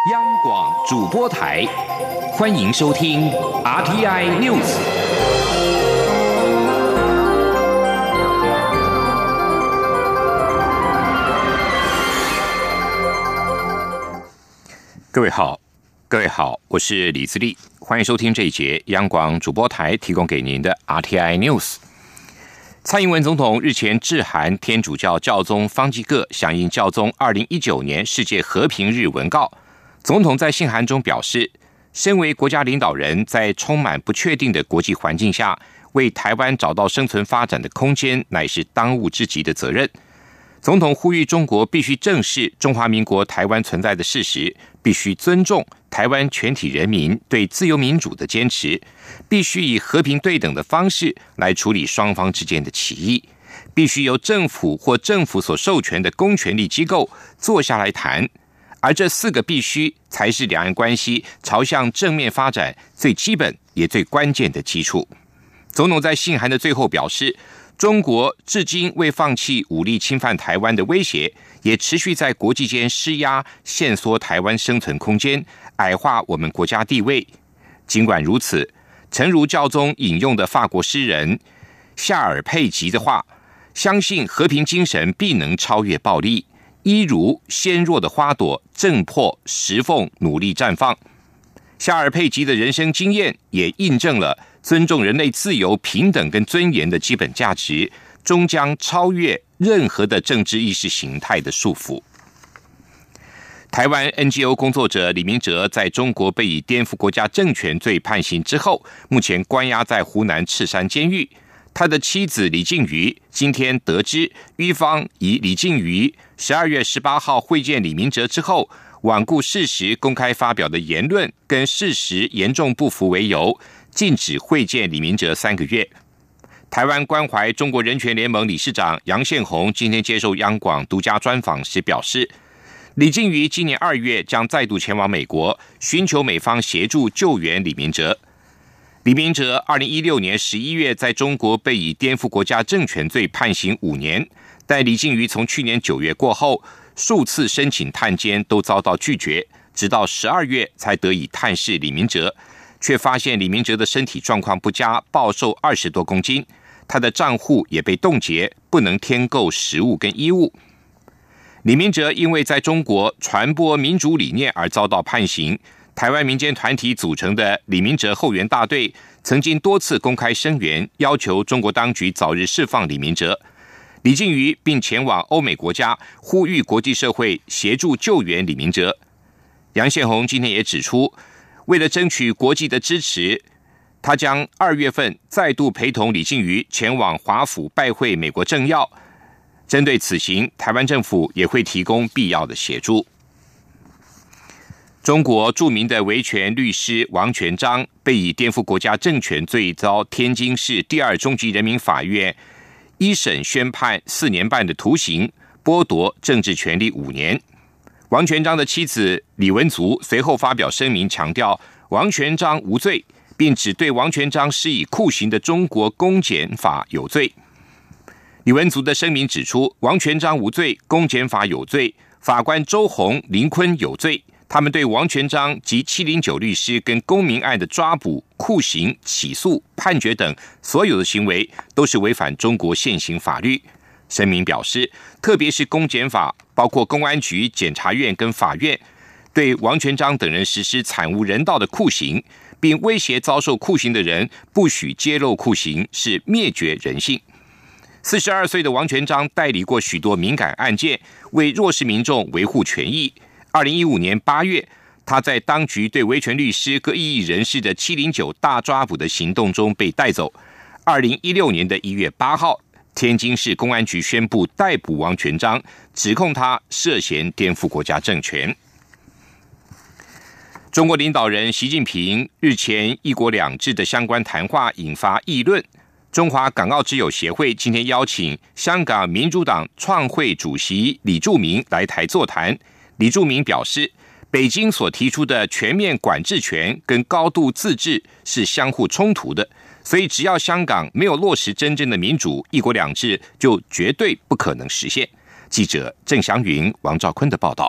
央广主播台，欢迎收听 RTI News。各位好，我是李自立，欢迎收听这一节央广主播台提供给您的 RTI News。蔡英文总统日前致函天主教教宗方济各，响应教宗2019年世界和平日文告。总统在信函中表示，身为国家领导人，在充满不确定的国际环境下，为台湾找到生存发展的空间，乃是当务之急的责任。总统呼吁中国必须正视中华民国台湾存在的事实，必须尊重台湾全体人民对自由民主的坚持，必须以和平对等的方式来处理双方之间的歧义，必须由政府或政府所授权的公权力机构坐下来谈，而这4个必须才是两岸关系朝向正面发展最基本也最关键的基础。总统在信函的最后表示，中国至今未放弃武力侵犯台湾的威胁，也持续在国际间施压，限缩台湾生存空间，矮化我们国家地位。尽管如此，诚如教宗引用的法国诗人夏尔佩吉的话，相信和平精神必能超越暴力，一如纤弱的花朵，正破石缝，努力绽放。夏尔佩吉的人生经验也印证了尊重人类自由、平等跟尊严的基本价值，终将超越任何的政治意识形态的束缚。台湾 NGO 工作者李明哲在中国被以颠覆国家政权罪判刑之后，目前关押在湖南赤山监狱。他的妻子李静瑜今天得知，狱方以李静瑜12月18号会见李明哲之后，罔顾事实公开发表的言论跟事实严重不符为由，禁止会见李明哲3个月。台湾关怀中国人权联盟理事长杨宪宏今天接受央广独家专访时表示，李静瑜今年2月将再度前往美国，寻求美方协助救援李明哲。李明哲2016年11月在中国被以颠覆国家政权罪判刑5年，但李静瑜从去年9月过后，数次申请探监都遭到拒绝，直到12月才得以探视李明哲，却发现李明哲的身体状况不佳，暴瘦20多公斤，他的账户也被冻结，不能添购食物跟衣物。李明哲因为在中国传播民主理念而遭到判刑，台湾民间团体组成的李明哲后援大队曾经多次公开声援，要求中国当局早日释放李明哲。李静瑜并前往欧美国家，呼吁国际社会协助救援李明哲。杨宪宏今天也指出，为了争取国际的支持，他将2月份再度陪同李静瑜前往华府拜会美国政要。针对此行，台湾政府也会提供必要的协助。中国著名的维权律师王全璋被以颠覆国家政权罪遭天津市第2中级人民法院一审宣判4年半的徒刑，剥夺政治权利5年。王全璋的妻子李文足随后发表声明，强调王全璋无罪，并指对王全璋施以酷刑的中国公检法有罪。李文足的声明指出，王全璋无罪，公检法有罪，法官周鸿、林坤有罪，他们对王全璋及709律师跟公民案的抓捕、酷刑、起诉、判决等所有的行为都是违反中国现行法律。声明表示，特别是公检法，包括公安局、检察院跟法院，对王全璋等人实施惨无人道的酷刑，并威胁遭受酷刑的人不许揭露酷刑，是灭绝人性。42岁的王全璋代理过许多敏感案件，为弱势民众维护权益。2015年8月，他在当局对维权律师各异议人士的709大抓捕的行动中被带走。2016年的1月8号，天津市公安局宣布逮捕王全璋，指控他涉嫌颠覆国家政权。中国领导人习近平日前一国两制的相关谈话引发议论。中华港澳之友协会今天邀请香港民主党创会主席李柱铭来台座谈。李柱铭表示，北京所提出的全面管制权跟高度自治是相互冲突的，所以只要香港没有落实真正的民主，一国两制就绝对不可能实现。记者郑祥云、王兆坤的报道。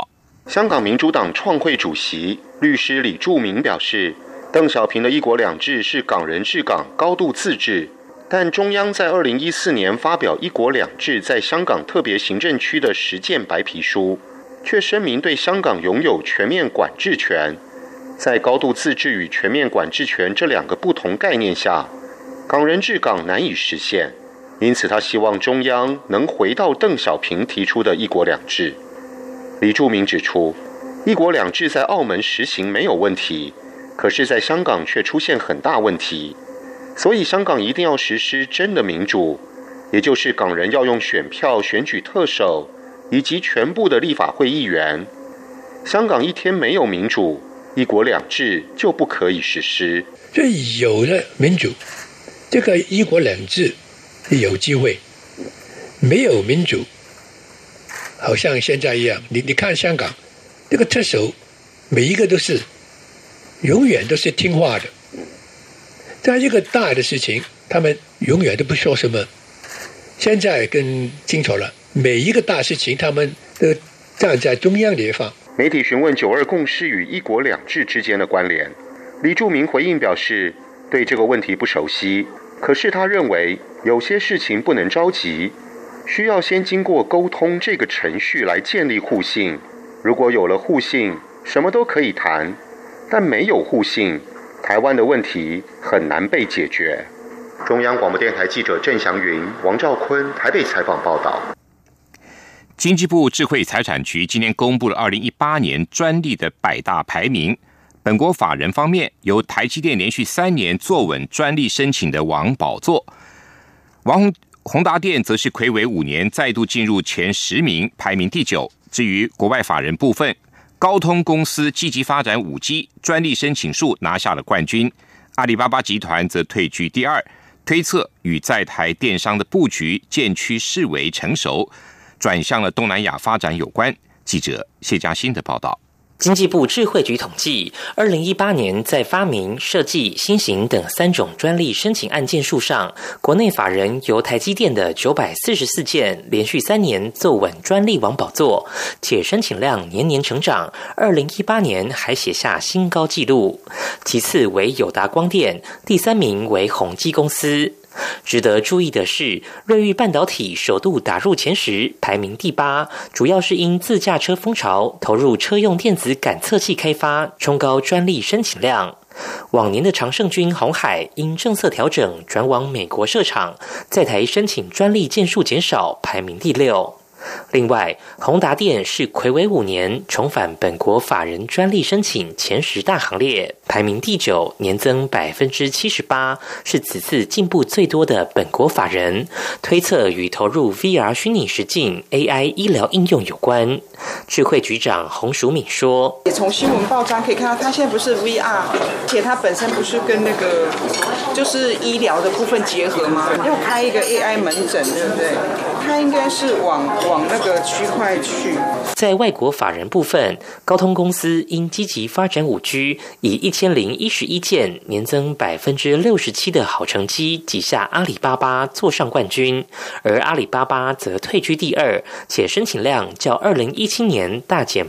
香港民主党创会主席律师李柱铭表示，邓小平的一国两制是港人治港、高度自治，但中央在2014年发表一国两制在香港特别行政区的实践白皮书，却声明对香港拥有全面管制权。在高度自治与全面管制权这两个不同概念下，港人治港难以实现，因此他希望中央能回到邓小平提出的一国两制。李柱铭指出，一国两制在澳门实行没有问题，可是在香港却出现很大问题，所以香港一定要实施真的民主，也就是港人要用选票选举特首以及全部的立法会议员。香港一天没有民主，一国两制就不可以实施。 所以有了民主，这个一国两制有机会；没有民主，好像现在一样，你看香港这个特首，每一个都是永远都是听话的，在一个大的事情，他们永远都不说什么。现在更清楚了，每一个大事情，他们都站在中央的一方。 媒体询问9·2共识与一国两制之间的关联，李柱铭回应表示，对这个问题不熟悉，可是他认为有些事情不能着急，需要先经过沟通这个程序来建立互信。如果有了互信，什么都可以谈，但没有互信，台湾的问题很难被解决。中央广播电台记者郑祥云、王兆坤台北采访报道。 经济部智慧财产局今天公布了2018年专利的100大排名。本国法人方面，由台积电连续3年坐稳专利申请的王宝座，宏达电则是睽违5年再度进入前10名，排名第9。至于国外法人部分，高通公司积极发展 5G， 专利申请数拿下了冠军，阿里巴巴集团则退居第2。推测与在台电商的布局渐趋式微成熟，转向了东南亚发展有关。记者谢嘉欣的报道。 经济部智慧局统计，2018年在发明、设计、新型等3种专利申请案件数上，国内法人由台积电的944件，连续3年坐稳专利王宝座，且申请量年年成长，2018年还写下新高纪录。其次为友达光电，第3名为宏基公司。值得注意的是，瑞昱半导体首度打入前10，排名第8，主要是因自驾车风潮投入车用电子感测器开发，冲高专利申请量。往年的常胜军鸿海因政策调整转往美国设厂，在台申请专利件数减少，排名第6。另外，宏达电是睽违5年重返本国法人专利申请前10大行列，排名第9，年增 78%， 是此次进步最多的本国法人，推测与投入 VR 虚拟实境 AI 医疗应用有关。智慧局长洪淑敏说， 也从新闻报章可以看到，它现在不是 VR， 而且它本身不是跟那个就是医疗的部分结合吗？要开一个 AI 门诊，对不对？它应该是往那个区块去。 在外国法人部分，高通公司因积极发展 5G， 以1011件，年增 67% 的好成绩挤下阿里巴巴坐上冠军，而阿里巴巴则退居第2，且申请量较2017年大减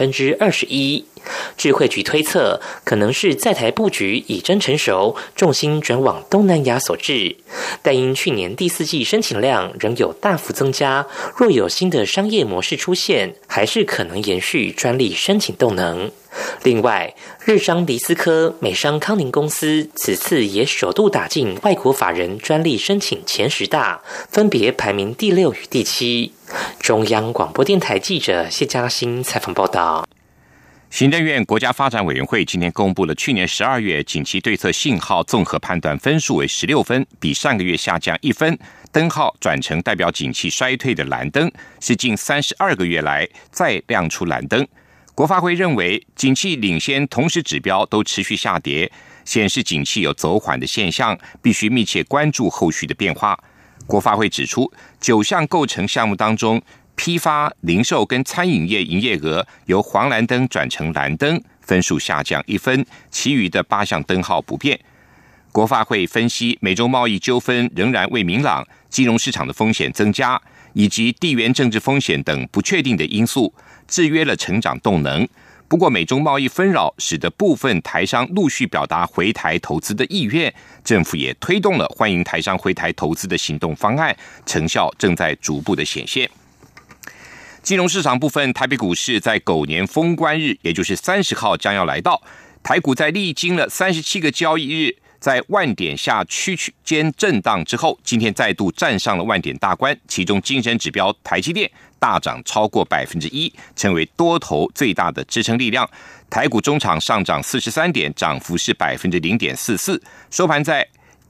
21%。智慧局推测，可能是在台布局已臻成熟，重心转往东南亚所致。但因去年第4季申请量仍有大幅增加，若有新的商业模式出现，还是可能延续专利申请动能。另外，日商迪斯科、美商康宁公司此次也首度打进外国法人专利申请前10大，分别排名第6与第7。中央广播电台记者谢嘉欣采访报道。 行政院国家发展委员会今天公布了去年12月景气对策信号综合判断分数为16分，比上个月下降1分，灯号转成代表景气衰退的蓝灯，是近32个月来再亮出蓝灯。国发会认为，景气领先同时指标都持续下跌，显示景气有走缓的现象，必须密切关注后续的变化。国发会指出，9项构成项目当中，批发、零售跟餐饮业营业额由黄蓝灯转成蓝灯，分数下降1分，其余的8项灯号不变。国发会分析，美洲贸易纠纷仍然未明朗，金融市场的风险增加， 以及地缘政治风险等不确定的因素，制约了成长动能。不过，美中贸易纷扰使得部分台商陆续表达回台投资的意愿，政府也推动了欢迎台商回台投资的行动方案，成效正在逐步的显现。金融市场部分，台北股市在狗年封关日，也就是30号将要来到，台股在历经了37个交易日，在万点下区间震荡之后，今天再度站上了万点大关，其中精神指标台积电大涨超过 1%， 成为多头最大的支撑力量。台股中场上涨43点，涨幅是 0.44%， 收盘在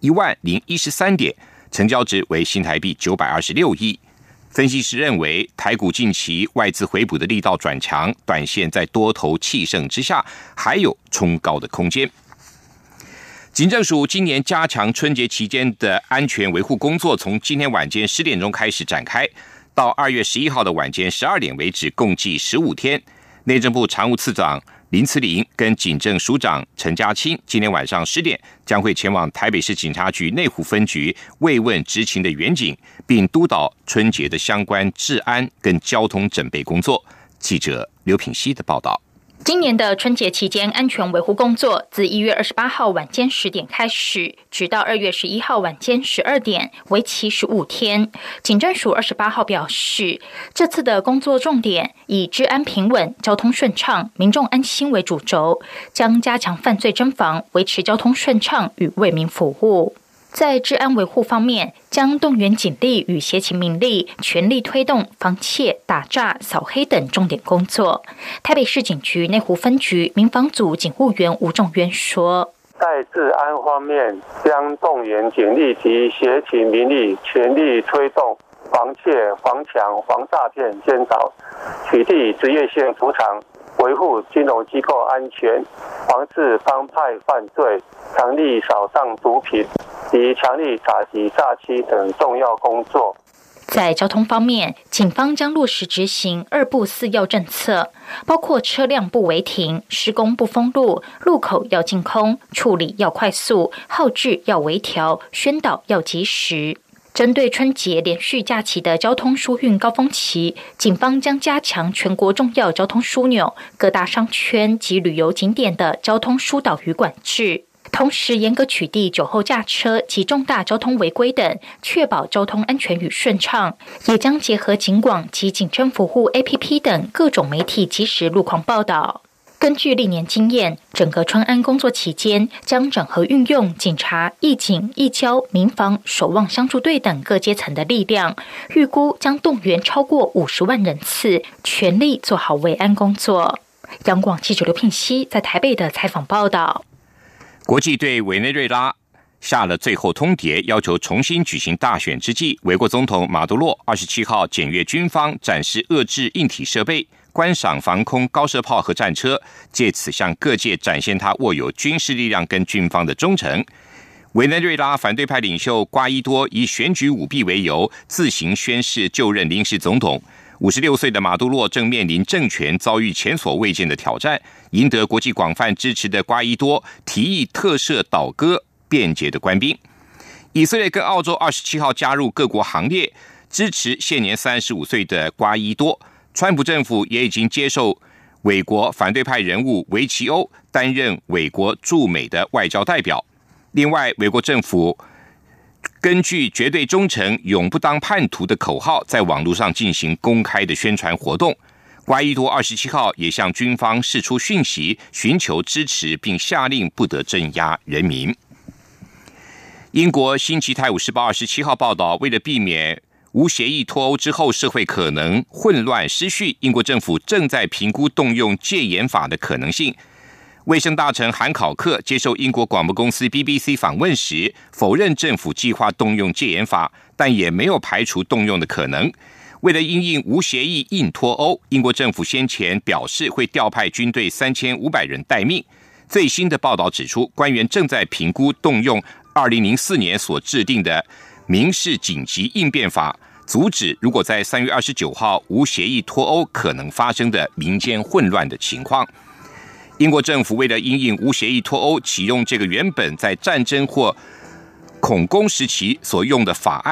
10013点，成交值为新台币926亿。分析师认为，台股近期外资回补的力道转强，短线在多头气盛之下，还有冲高的空间。警政署今年加强春节期间的安全维护工作，从今天晚间10点钟开始展开，到2月11号的晚间12点为止，共计15天。内政部常务次长林慈玲跟警政署长陈家清今天晚上10点将会前往台北市警察局内湖分局慰问执勤的员警，并督导春节的相关治安跟交通准备工作。记者刘品希的报道。 今年的春节期间安全维护工作自1月28号晚间10点开始，直到2月11号晚间12点，为期15天。警政署28号表示，这次的工作重点以治安平稳、交通顺畅、民众安心为主轴，将加强犯罪侦防，维持交通顺畅与为民服务。在治安维护方面，将动员警力与协勤民力，全力推动防窃、打诈、扫黑等重点工作。台北市警局内湖分局民防组警务员吴仲渊说， 在治安方面，将动员警力及协勤民力，全力推动防窃、防抢、防诈骗监察，取缔职业性赌场，维护金融机构安全，防治帮派犯罪，强力扫荡毒品及强力打击诈欺等重要工作。 在交通方面，警方将落实执行2不4要政策，包括车辆不违停、施工不封路、路口要净空、处理要快速、号志要微调、宣导要及时。针对春节连续假期的交通疏运高峰期，警方将加强全国重要交通枢纽、各大商圈及旅游景点的交通疏导与管制，同时严格取缔酒后驾车及重大交通违规等，确保交通安全与顺畅。也将结合警广及警政服务 APP 等各种媒体及时路况报道。根据历年经验，整个春安工作期间将整合运用警察、义警、义交、民防、守望相助队等各阶层的力量，预估将动员超过50万人次，全力做好维安工作。央广记者刘聘熙在台北的采访报道。 国际对委内瑞拉下了最后通牒，要求重新举行大选之际，委国总统马杜洛27号检阅军方展示遏制硬体设备，观赏防空高射炮和战车，借此向各界展现他握有军事力量跟军方的忠诚。委内瑞拉反对派领袖瓜伊多以选举舞弊为由，自行宣誓就任临时总统。56岁的马杜洛正面临政权遭遇前所未见的挑战，赢得国际广泛支持的瓜伊多提议特赦倒戈便捷的官兵。以色列跟澳洲27号加入各国行列，支持现年35岁的瓜伊多。川普政府也已经接受委国反对派人物维奇欧担任委国驻美的外交代表。另外，委国政府根据绝对忠诚、永不当叛徒的口号，在网络上进行公开的宣传活动。瓜伊多27号也向军方释出讯息，寻求支持，并下令不得镇压人民。英国《星期泰晤士报》27号报道，为了避免无协议脱欧之后社会可能混乱失序，英国政府正在评估动用戒严法的可能性。卫生大臣韩考克接受英国广播公司 BBC 访问时，否认政府计划动用戒严法，但也没有排除动用的可能。为了因应无协议硬脱欧，英国政府先前表示会调派军队3500人待命。最新的报道指出，官员正在评估动用2004年所制定的民事紧急应变法，阻止如果在3月29号无协议脱欧可能发生的民间混乱的情况。英国政府为了因应无协议脱欧，启用这个原本在战争或恐攻时期所用的法案，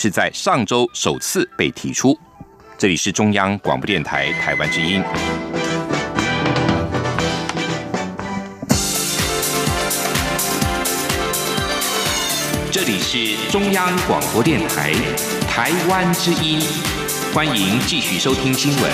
是在上周首次被提出。这里是中央广播电台台湾之音。这里是中央广播电台台湾之音，欢迎继续收听新闻。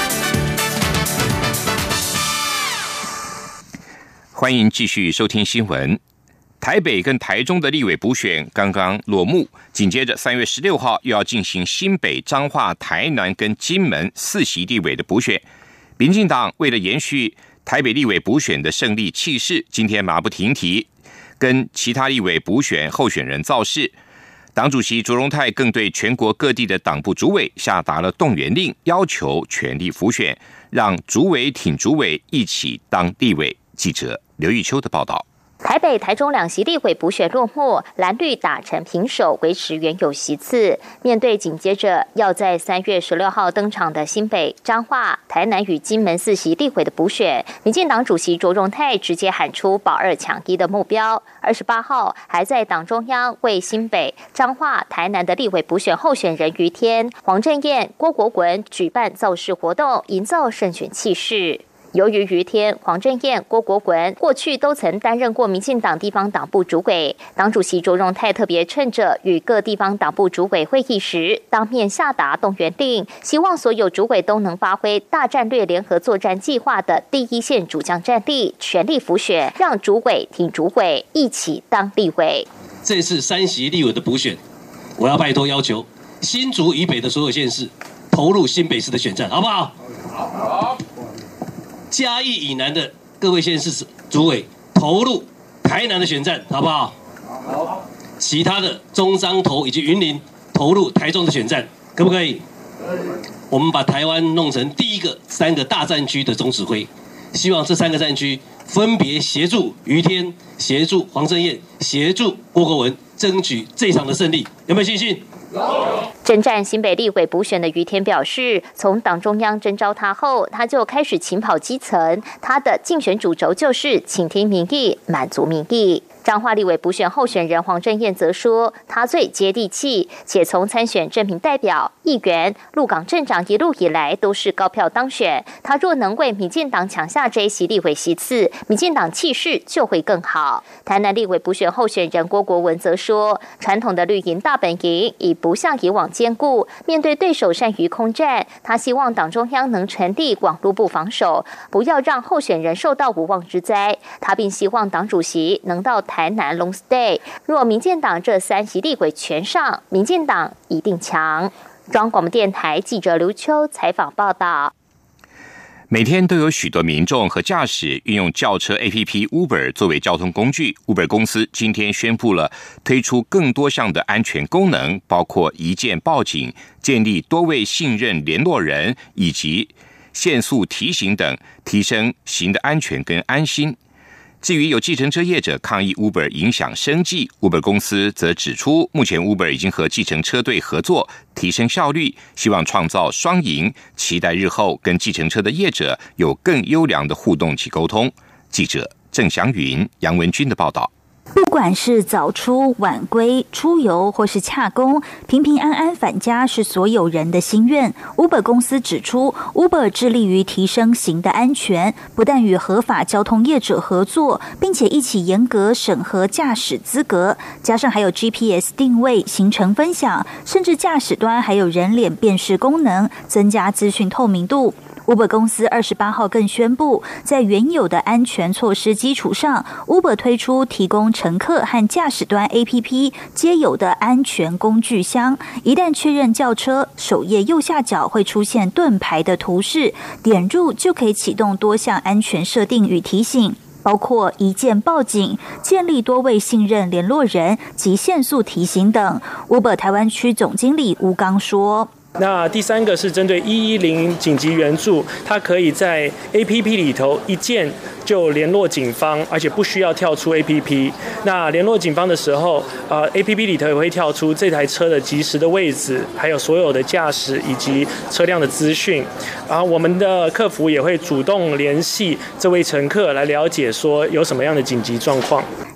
欢迎继续收听新闻。台北跟台中的立委补选刚刚落幕，紧接着3月16号又要进行新北、彰化、台南跟金门4席立委的补选。民进党为了延续台北立委补选的胜利气势，今天马不停蹄跟其他立委补选候选人造势。党主席卓荣泰更对全国各地的党部主委下达了动员令，要求全力辅选，让主委挺主委一起当立委。记者刘玉秋的报道。 台北、台中2席立委补选落幕，蓝绿打成平手，维持原有席次。面对紧接着要在3月16号登场的新北、彰化、台南与金门4席立委的补选，民进党主席卓荣泰直接喊出保2抢1的目标。28号还在党中央为新北、彰化、台南的立委补选候选人于天、黄正彦、郭国文举办造势活动，营造胜选气势。由于于天、黄正彦、郭国文过去都曾担任过民进党地方党部主委，党主席卓荣泰特别趁着与各地方党部主委会议时，当面下达动员令，希望所有主委都能发挥大战略联合作战计划的第一线主将战力，全力辅选，让主委挺主委，一起当立委。 这次3席立委的补选，我要拜托要求新竹以北的所有县市投入新北市的选战，好不好？好。嘉义以南的各位县市主委投入台南的选战，好不好？好。其他的中彰投以及云林投入台中的选战，可不可以？可以。我们把台湾弄成第一个3个大战区的总指挥，希望这3个战区分别协助于天、协助黄正彦、协助郭国文争取这场的胜利，有没有信心？ 征战新北立委补选的于天表示，从党中央征召他后，他就开始勤跑基层，他的竞选主轴就是倾听民意，满足民意。彰化立委补选候选人黄正彦则说，他最接地气，且从参选镇民代表、议员、鹿港镇长一路以来都是高票当选。他若能为民进党抢下这一席立委席次，民进党气势就会更好。台南立委补选候选人郭国文则说，传统的绿营大本营已不像以往坚固，面对对手善于空战，他希望党中央能成立广陆部防守，不要让候选人受到无妄之灾。他并希望党主席能到台南 long stay， 若民进党这3席立委全上，民进党一定强。中央广播电台记者刘秋采访报道。 每天都有许多民众和驾驶运用轿车 APP Uber 作为交通工具。Uber 公司今天宣布了推出更多项的安全功能，包括一键报警、建立多位信任联络人以及限速提醒等，提升行的安全跟安心。至于有计程车业者抗议 Uber 影响生计， Uber 公司则指出，目前 Uber 已经和计程车队合作，提升效率，希望创造双赢，期待日后跟计程车的业者有更优良的互动及沟通。记者郑祥云、杨文君的报道。 不管是早出晚归、出游或是洽公，平平安安返家是所有人的心愿。Uber 公司指出 ，Uber 致力于提升行的安全，不但与合法交通业者合作，并且一起严格审核驾驶资格，加上还有 GPS 定位、行程分享，甚至驾驶端还有人脸辨识功能，增加资讯透明度。Uber 公司28号更宣布，在原有的安全措施基础上 ，Uber 推出提供乘客和驾驶端 APP 皆有的安全工具箱。一旦确认轿车，首页右下角会出现盾牌的图示，点入就可以启动多项安全设定与提醒，包括一键报警、建立多位信任联络人及限速提醒等。Uber 台湾区总经理吴刚说。 那第3个是针对110紧急援助，它可以在 APP 里头一键就联络警方，而且不需要跳出 APP。那联络警方的时候，APP 里头也会跳出这台车的即时的位置，还有所有的驾驶以及车辆的资讯。然后我们的客服也会主动联系这位乘客来了解说有什么样的紧急状况。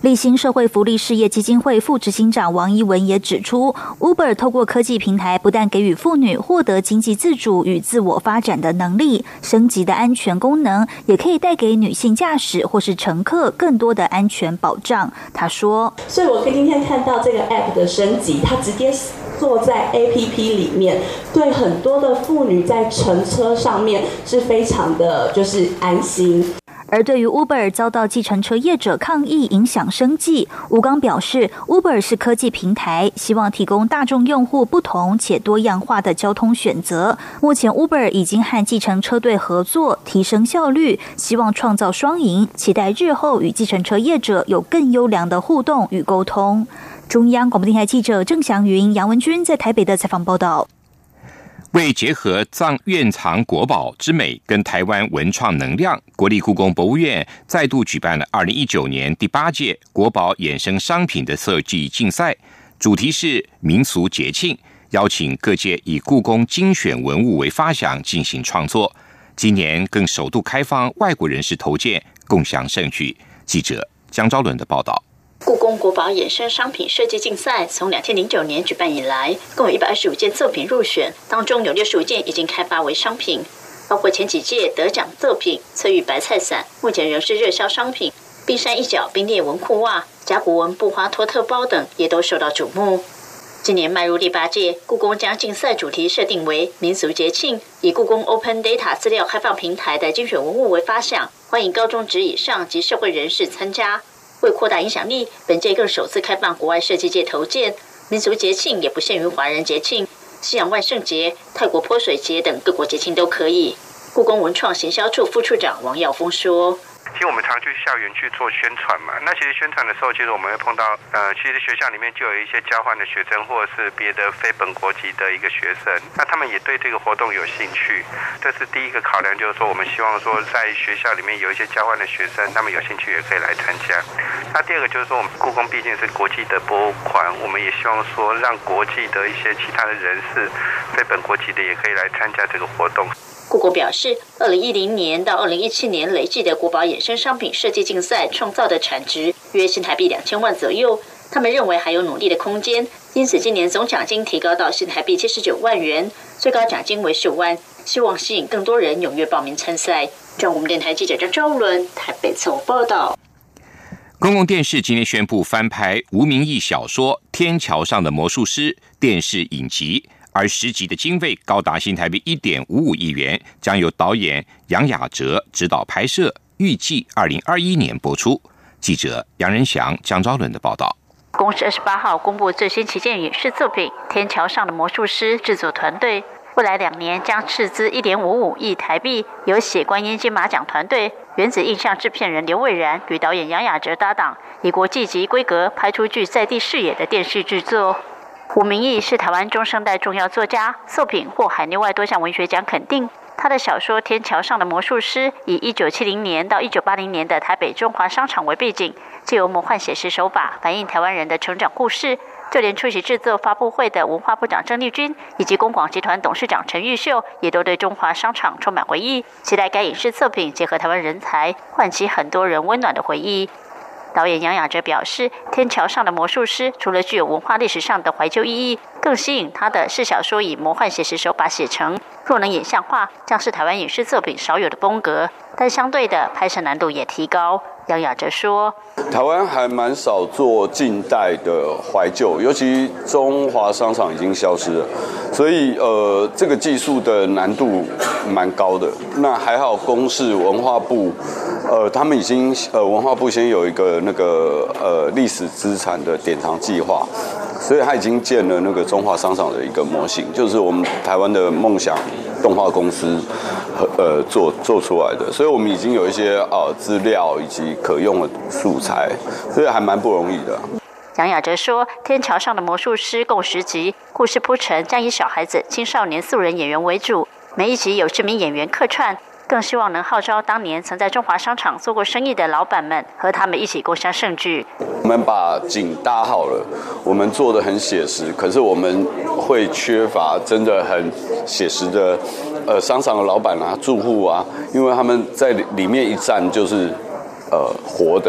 立新社会福利事业基金会副执行长王一文也指出 ，Uber 透过科技平台，不但给予妇女获得经济自主与自我发展的能力，升级的安全功能，也可以带给女性驾驶或是乘客更多的安全保障。他说：“ 所以我今天看到这个 App 的升级，它直接做在 APP 里面，对很多的妇女在乘车上面是非常的就是安心。” 而对于 Uber 遭到计程车业者抗议影响生计，吴刚表示 Uber 是科技平台，希望提供大众用户不同且多样化的交通选择。目前 Uber 已经和计程车队合作，提升效率，希望创造双赢，期待日后与计程车业者有更优良的互动与沟通。中央广播电台记者郑祥云、杨文君在台北的采访报道。 为结合院藏国宝之美跟台湾文创能量，国立故宫博物院再度举办了2019年第8届国宝衍生商品的设计竞赛，主题是民俗节庆，邀请各界以故宫精选文物为发想进行创作。今年更首度开放外国人士投件，共享盛举。记者江昭伦的报道。 故宫国宝衍生商品设计竞赛从2009年举办以来，共有125件作品入选，当中有65件已经开发为商品，包括前几届得奖作品翠玉白菜伞，目前仍是热销商品；冰山一角冰裂纹裤袜、甲骨文布花托特包等也都受到瞩目。今年迈入第8届，故宫将竞赛主题设定为民俗节庆，以故宫 Open Data 资料开放平台的精选文物为发想，欢迎高中职以上及社会人士参加。为扩大影响力，本届更首次开放国外设计界投件，民俗节庆也不限于华人节庆，西洋万圣节、泰国泼水节等各国节庆都可以。故宫文创行销处副处长王耀峰说：“ 其实我们常去校园去做宣传嘛，那其实宣传的时候，其实我们会碰到其实学校里面就有一些交换的学生，或者是别的非本国籍的一个学生，那他们也对这个活动有兴趣。这是第一个考量，就是说我们希望说在学校里面有一些交换的学生，他们有兴趣也可以来参加。那第二个就是说，我们故宫毕竟是国际的博物馆，我们也希望说让国际的一些其他的人士，非本国籍的也可以来参加这个活动。” 故宫表示，2010年到2017年累计的国宝衍生商品设计竞赛创造的产值约新台币2000万左右，他们认为还有努力的空间，因此今年总奖金提高到新台币79万元，最高奖金为15万，希望吸引更多人踊跃报名参赛。中央电台记者张昭伦台北综合报道。 公共电视今天宣布翻拍吴明益小说《天桥上的魔术师》电视影集，而10集的经费高达新台币1.55亿元，将由导演杨雅哲指导拍摄，预计2021年播出。记者杨仁祥、江昭伦的报道。 公视28号公布最新旗舰影视作品《天桥上的魔术师》制作团队，未来2年将斥资1.55亿台币，由血观音金马奖团队、原子印象制片人刘蔚然与导演杨雅哲搭档，以国际级规格拍出具在地视野的电视制作。吴明益是台湾中生代重要作家，作品获海内外多项文学奖肯定。他的小说《天桥上的魔术师》以1970年到1980年的台北中华商场为背景，藉由魔幻写实手法反映台湾人的成长故事。就连出席制作发布会的文化部长郑丽君以及公广集团董事长陈玉秀，也都对中华商场充满回忆，期待该影视作品结合台湾人才，唤起很多人温暖的回忆。导演杨雅哲表示，《天桥上的魔术师》除了具有文化历史上的怀旧意义，更吸引他的是小说以魔幻写实手法写成，若能演像化，将是台湾影视作品少有的风格，但相对的拍摄难度也提高。杨雅哲说：“ 台湾还蛮少做近代的怀旧，尤其中华商场已经消失了，所以这个技术的难度蛮高的。那还好，公视文化部他们已经文化部先有一个那个历史资产的典藏计划，所以他已经建了那个中华商场的一个模型，就是我们台湾的梦想动画公司做出来的，所以我们已经有一些资料以及可用的素材，所以还蛮不容易的。” 杨雅哲说，《天桥上的魔术师》共10集，故事铺陈将以小孩子、青少年素人演员为主，每一集有知名演员客串，更希望能号召当年曾在中华商场做过生意的老板们，和他们一起共襄盛举。 我们把景搭好了，我们做得很写实，可是我们会缺乏真的很写实的商场的老板啊、住户啊，因为他们在里面一站就是活的，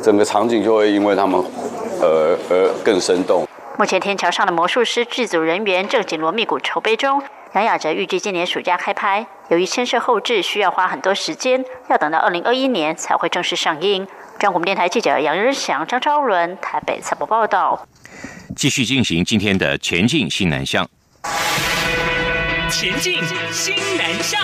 整个场景就会因为他们而更生动。 目前天桥上的魔术师剧组人员正紧锣密鼓筹备中。杨雅哲预计今年暑假开拍，由于牵涉后制需要花很多时间，要等到2021年才会正式上映。中央广播电台记者杨仁祥、张昭伦台北采访报道。 继续进行今天的前进新南向。 前进新南向。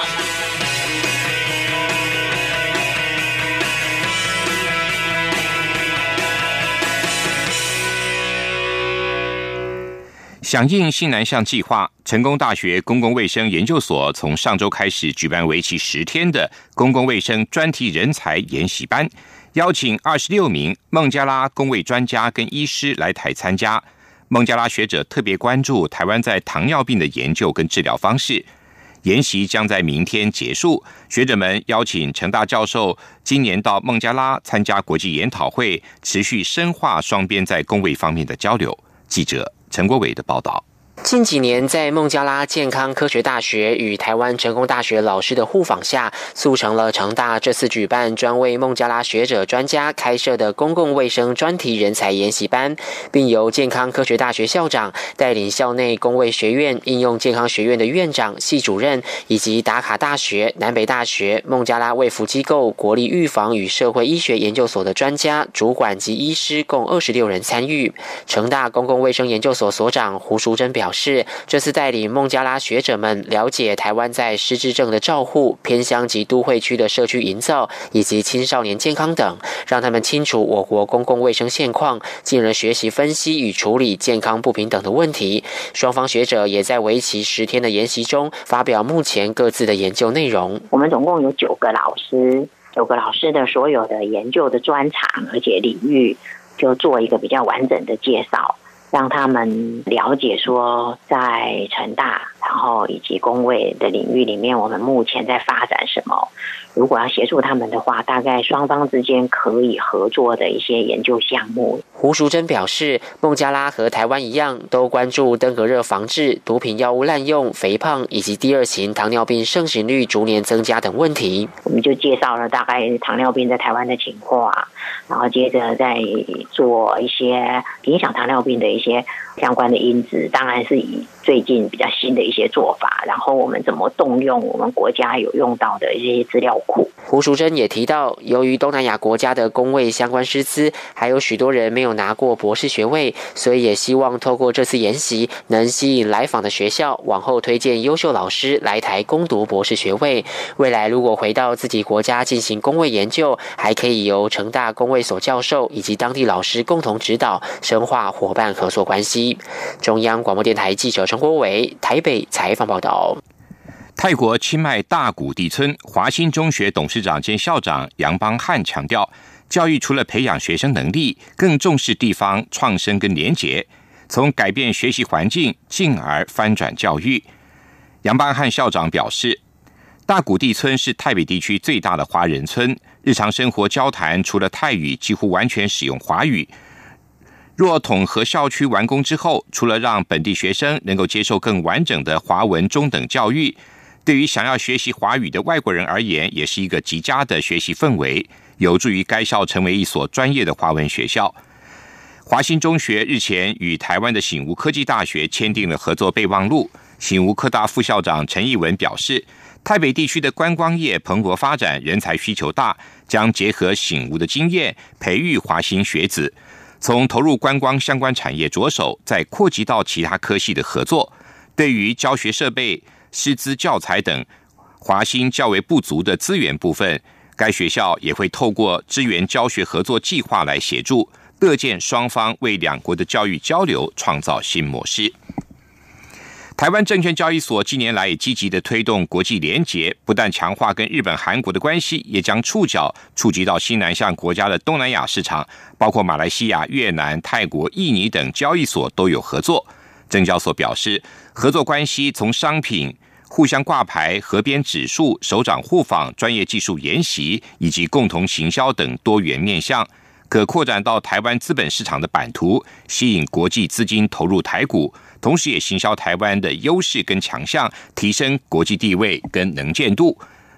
响应新南向计划，成功大学公共卫生研究所从上周开始举办为期10天的公共卫生专题人才研习班，邀请26名孟加拉公卫专家跟医师来台参加。孟加拉学者特别关注台湾在糖尿病的研究跟治疗方式。研习将在明天结束，学者们邀请成大教授今年到孟加拉参加国际研讨会，持续深化双边在公卫方面的交流。记者陈国伟的报道。 近几年，在孟加拉健康科学大学与台湾成功大学老师的互访下，促成了成大这次举办专为孟加拉学者专家开设的公共卫生专题人才研习班，并由健康科学大学校长带领校内公卫学院、应用健康学院的院长、系主任，以及达卡大学、南北大学、孟加拉卫福机构国立预防与社会医学研究所的专家、主管及医师共26人参与。成大公共卫生研究所所长胡淑珍表示，这次带领孟加拉学者们了解台湾在失智症的照护、偏乡及都会区的社区营造以及青少年健康等，让他们清楚我国公共卫生现况，进而学习分析与处理健康不平等的问题。双方学者也在为期10天的研习中发表目前各自的研究内容。 我们总共有9个老师的所有的研究的专长而且领域，就做一个比较完整的介绍，让他们了解说在成大然后以及公卫的领域里面我们目前在发展什么，如果要协助他们的话，大概双方之间可以合作的一些研究项目。 胡淑珍表示，孟加拉和台湾一样，都关注登革热防治、毒品药物滥用、肥胖以及第2型糖尿病盛行率逐年增加等问题。 我们就介绍了大概糖尿病在台湾的情况，然后接着再做一些影响糖尿病的一些相关的因子，当然是以最近比较新的一些做法，然后我们怎么动用我们国家有用到的一些资料库。 胡淑珍也提到，由于东南亚国家的公卫相关师资还有许多人没有拿过博士学位，所以也希望透过这次研习能吸引来访的学校往后推荐优秀老师来台攻读博士学位。未来如果回到自己国家进行公卫研究，还可以由成大公卫所教授以及当地老师共同指导，深化伙伴合作关系。中央广播电台记者陈国伟台北采访报道。 泰国清迈大谷地村华新中学董事长兼校长杨邦汉强调，教育除了培养学生能力，更重视地方创生跟连结，从改变学习环境，进而翻转教育。杨邦汉校长表示，大谷地村是泰北地区最大的华人村，日常生活交谈除了泰语，几乎完全使用华语。若统合校区完工之后，除了让本地学生能够接受更完整的华文中等教育，对于想要学习华语的外国人而言，也是一个极佳的学习氛围，有助于该校成为一所专业的华文学校。华新中学日前与台湾的醒吾科技大学签订了合作备忘录。醒吾科大副校长陈义文表示，泰北地区的观光业蓬勃发展，人才需求大，将结合醒吾的经验，培育华新学子，从投入观光相关产业着手，再扩及到其他科系的合作。对于教学设备、师资教材等华新较为不足的资源部分，该学校也会透过支援教学合作计划来协助，乐见双方为两国的教育交流创造新模式。台湾证券交易所近年来也积极的推动国际联结，不但强化跟日本、韩国的关系，也将触角触及到新南向国家的东南亚市场，包括马来西亚、越南、泰国、印尼等交易所都有合作。证交所表示，合作关系从商品互相挂牌、河边指数、首长互访、专业技术研习以及共同行销等多元面向，可扩展到台湾资本市场的版图，吸引国际资金投入台股，同时也行销台湾的优势跟强项，提升国际地位跟能见度。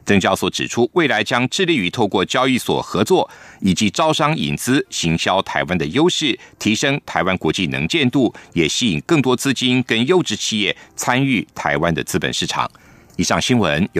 证交所指出，未来将致力于透过交易所合作以及招商引资，行销台湾的优势，提升台湾国际能见度，也吸引更多资金跟优质企业参与台湾的资本市场。以上新闻由